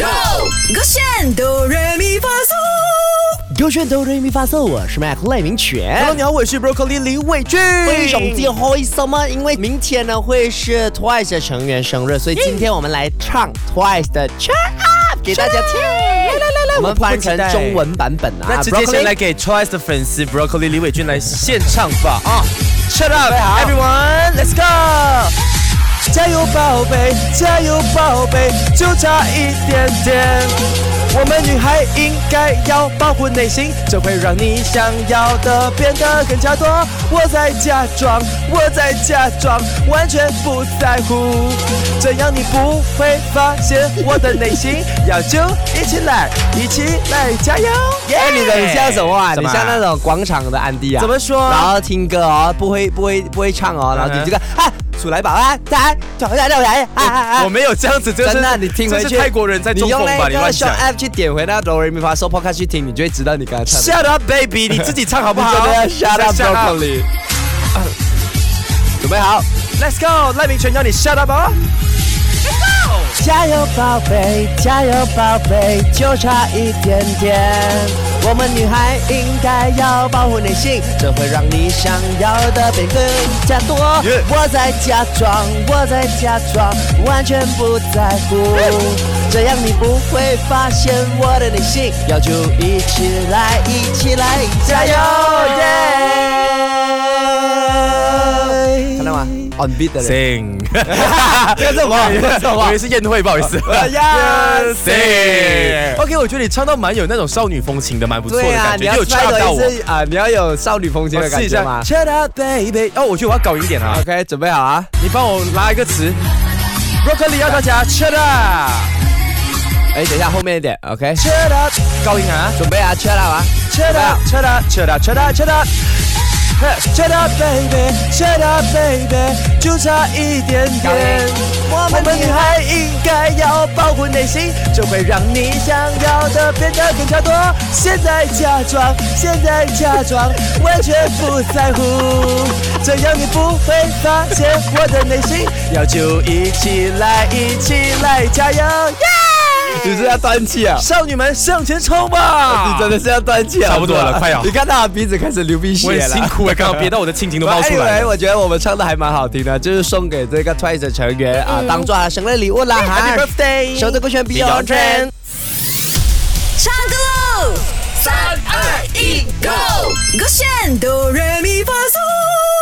Go， 勾选哆来咪发嗦， 勾选哆来咪发嗦，我是 Mac 赖明全。 Hello， 你好，我是 Broccoli 李伟俊。 非常之开心啊，因为明天呢会是 Twice 的成员生日，所以今天我们来唱 Twice 的 Shut Up 给大家听。来，我们换成中文版本啊。 那直接先来给 Twice 的粉丝 Broccoli 李伟俊来现唱吧啊 ！Shut up everyone, let's go！ 加油宝贝，加油宝贝，就差一点点。我们女孩应该要保护内心，这会让你想要的变得更加多。我在假装，我在假装，完全不在乎，这样你不会发现我的内心。要就一起来，一起来，加油！ 哎，你很像什么啊？ 怎么你像那种广场的安迪啊？ 怎么说？ 然后听歌哦，不会唱哦，然后你这个出来吧啊，来， 我没有这样子， 真的，你听回去， 这是泰国人在中风吧？你乱用讲。 App 去点回那哆来咪发嗦 Podcast 去听，你就会知道你刚才唱的。 Shut up, baby！ 你自己唱好不好？ 你真的要 Shut up, Broccoli。准备好 ，Let's go！ 赖明全要你 Shut up 哦！ 加油宝贝，加油宝贝，就差一点点。我们女孩应该要保护内心，这会让你想要的变更加多。我在假装，我在假装，完全不在乎，这样你不会发现我的内心。要就一起来，一起来，加油！耶！看到吗？On beat 的人。 Sing， 这个什么？ 我以为是宴会，不好意思。 Yes, Sing。OK， 我觉得你唱到蛮有那种少女风情的，蛮不错的感觉。 你要有唱到我啊！你要有少女风情的感觉吗 ？Shut up, baby！ 哦，我觉得我要搞一点啊。 OK， 准备好啊！ 你帮我拉一个词 ，Broccoli 要大家 Shut up。 哎，等一下后面一点 ，OK。Shut up， 高音啊！ 准备啊 ，Shut up 啊 ！Shut up, shut up, shut up, shut up, shut up。Shut up, baby, shut up, baby， 就差一点点。我们女孩应该要保护内心，这会让你想要的变得更加多。现在假装，现在假装，完全不在乎，这样你不会发现我的内心。要就一起来，一起来，加油！ 你是要断气啊！ 少女们向前冲吧！ 你真的是要断气啊！ 差不多了，快要！ 你看他的鼻子开始流鼻血了， 我很辛苦刚刚憋到我的亲情都冒出来了。 我觉得我们唱的还蛮好听的，就是送给这个 Twice 的成员啊，当做他生日礼物啦哈 ！Happy birthday！ 收的歌选 Beyond Trend， 唱歌喽！3、2、1，Go！ 勾选哆来咪发嗦。